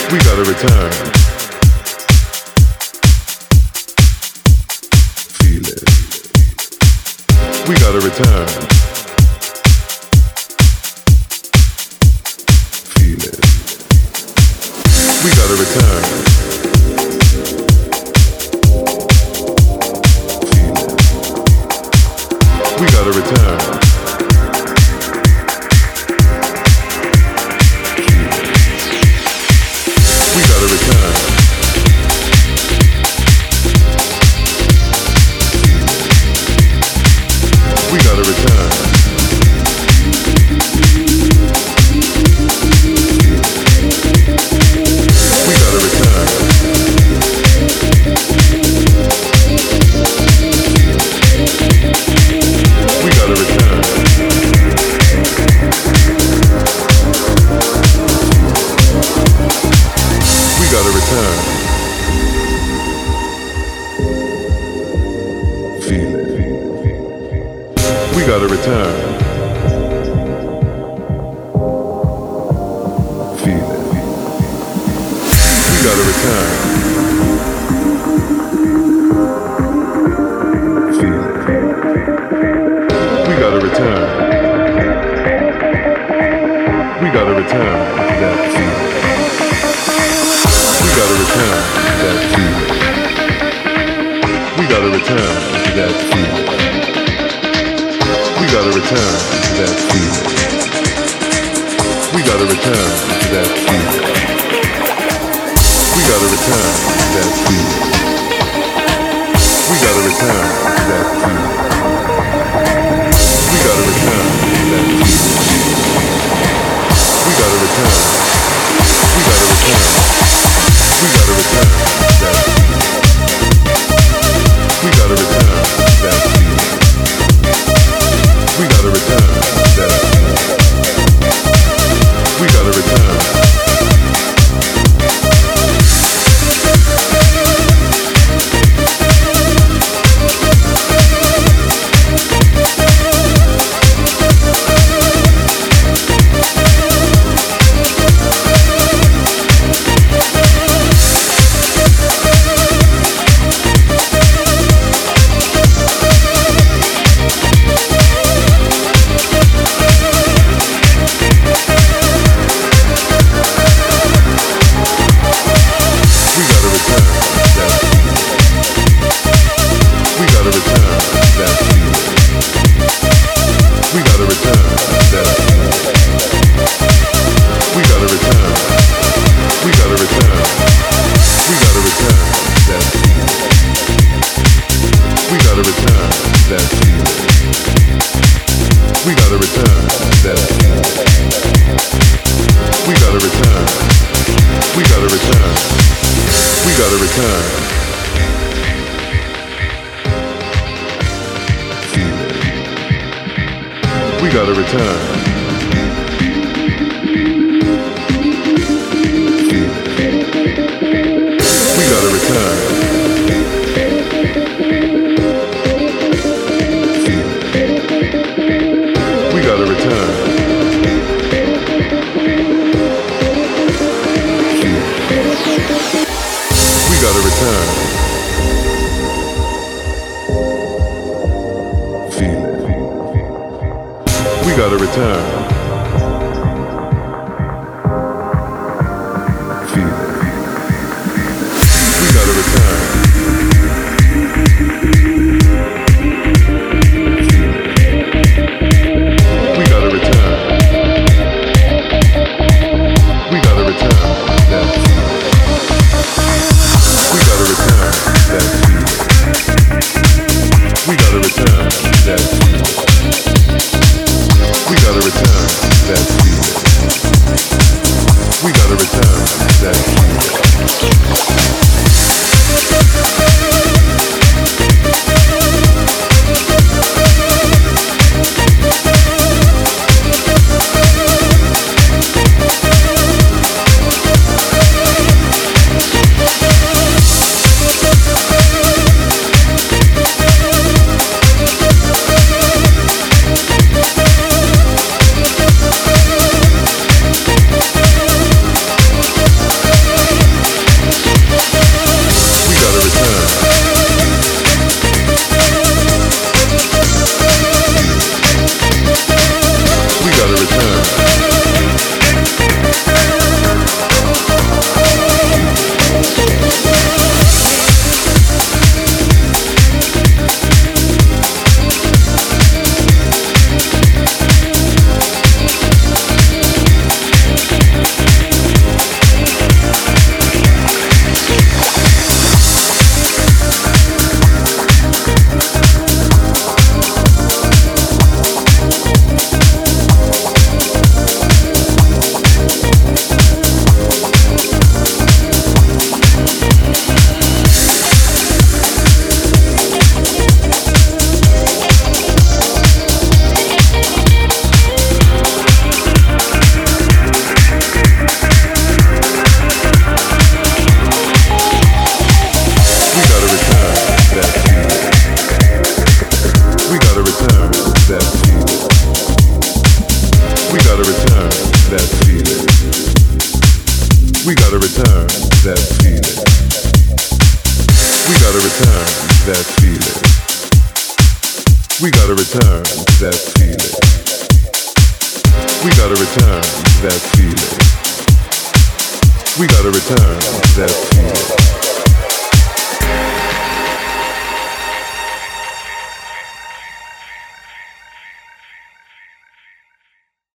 We gotta return. Feel it. We gotta return. Feel it. We gotta return. Feel it. We gotta return. We gotta return. We gotta return. We gotta return. We gotta return. We gotta return. Feel it. We gotta return. Feel it. We gotta return. Feel it. We gotta return. We gotta return that feeling. We gotta return that feeling. We gotta return that feeling. We gotta return that feeling. We gotta return that feeling. We gotta return that feeling. We gotta return that feeling. We gotta return that feeling. We gotta return. We gotta return. We gotta return that feeling. We gotta return that feeling. We gotta return that feeling. We gotta return. return to that feeling. We gotta return to that feeling. We gotta return to that feeling. We gotta return to that feeling. We gotta return to that feeling.